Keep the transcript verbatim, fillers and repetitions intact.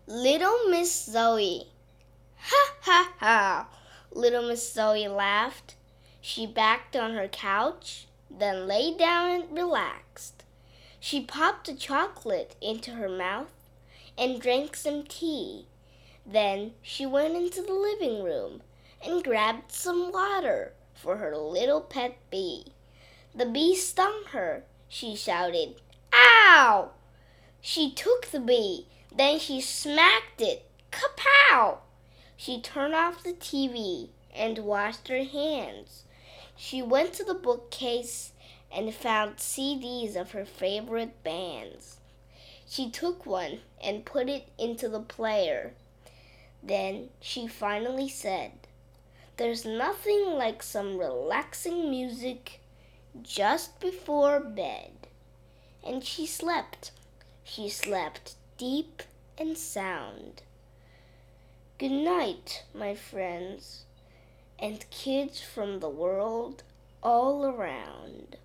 Little Miss Zoe. Ha ha ha! Little Miss Zoe laughed. She backed on her couch, then lay down and relaxed. She popped a chocolate into her mouth and drank some tea. Then she went into the living room and grabbed some water for her little pet bee. The bee stung her. She shouted, "Ow!" She took the bee. Then she smacked it. Kapow! She turned off the T V and washed her hands. She went to the bookcase and found C Ds of her favorite bands. She took one and put it into the player. Then she finally said, "There's nothing like some relaxing music just before bed." And she slept. She slept deep and sound. Good night, my friends, and kids from the world all around.